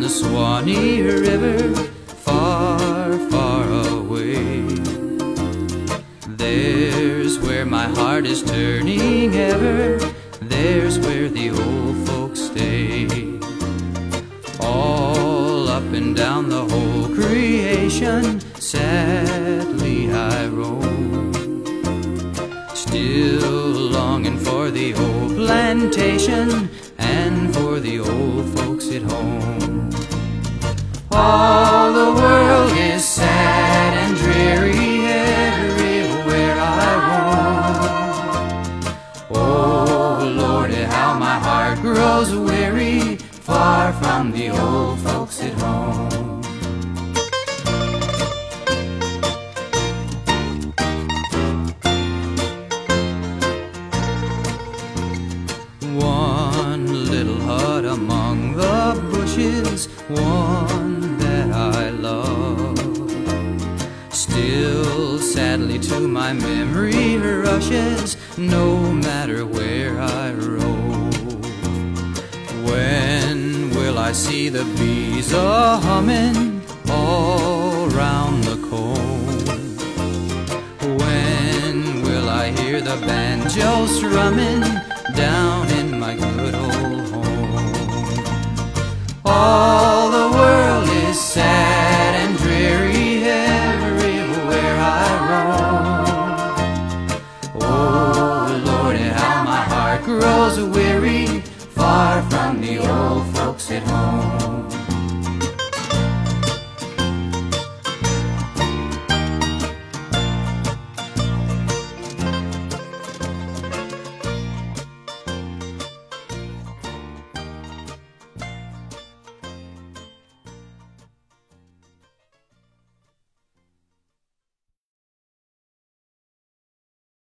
the Swanee River, far, far away. There's where my heart is turning ever, there's where the old folks stay. All up and down the whole creation, sadly I roam, still longing for the old plantation and for the old folks at home. All the world is sad and dreary everywhere I roam. Oh Lordy, how my heart grows weary, far from the old folks at home. One little hut among the bushes, one that I love, still sadly to my memory rushes, no matter where I rove. When will I see the bees a-humming all round the comb? When will I hear the banjo strumming down in my good old home? All the world is sad and dreary everywhere I roam. Oh Lordy, how my heart grows weary, far from the old folks at home.